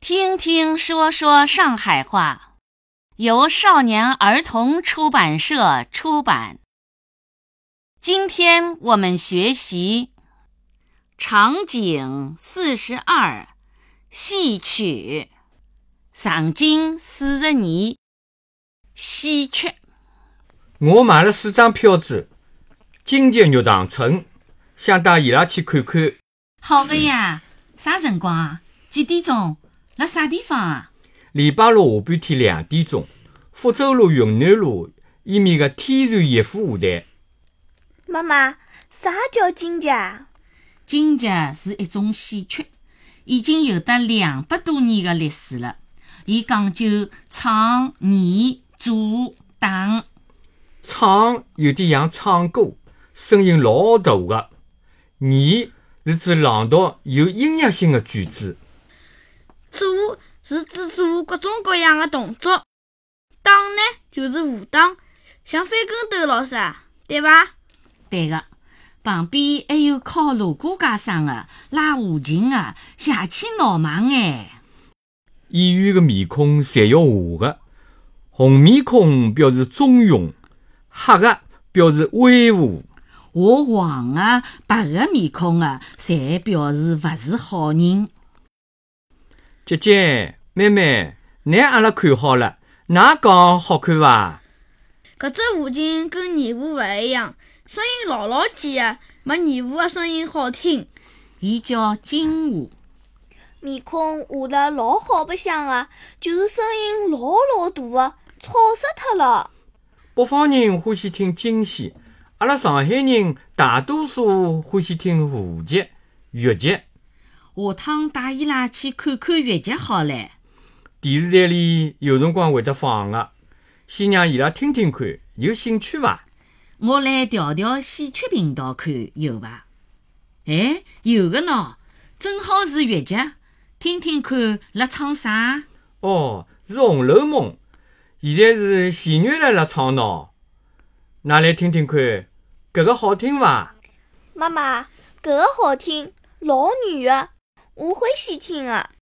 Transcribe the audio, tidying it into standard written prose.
听听说说上海话，由少年儿童出版社出版。今天我们学习场景42，戏曲。上京42，戏曲。 我买了4张票子，京剧肉塘村，想带伊拉去看看。 好的呀，啥辰光啊？几点钟？辣啥地方啊？ 礼拜六下半天2点钟，福州路云南路伊面的天然逸夫舞台。 妈妈，啥叫京剧啊？ 京剧是一种戏曲，已经有得200多年的历史了。伊讲究唱、演、做、打。 唱有点像唱歌，声音老大的；演是指朗读有音乐性的句子。 做是指做各种各样的动作，打呢就是武打，像翻跟斗老啥，对吧？ 对的，旁边还有敲锣鼓架声的、拉胡琴的、下起闹忙哎。 演员的面孔侪要画的，红面孔表示忠勇，黑的表示威武。 画黄的、白的面孔的，侪表示勿是好人。 姐姐、妹妹，拿阿拉看好了，哪讲好看伐？ 搿只胡琴跟二胡勿一样，声音老尖的，没二胡的声音好听。 伊叫京胡。 面孔画得老好白相的，就是声音老大的，吵死脱了。 北方人欢喜听京戏，阿拉上海人大多数欢喜听胡剧、豫剧。 下趟带伊拉去看看豫剧好唻。 电视台里有辰光会得放的，先让伊拉听听看，有兴趣伐？ 我来调调戏曲频道看有伐？哎，有的喏，正好是豫剧，听听看辣唱啥？ 哦，是《红楼梦》，现在是弦乐来辣唱喏。㑚来听听看，搿个好听伐？ 妈妈，搿个好听，老软的，我欢喜听的。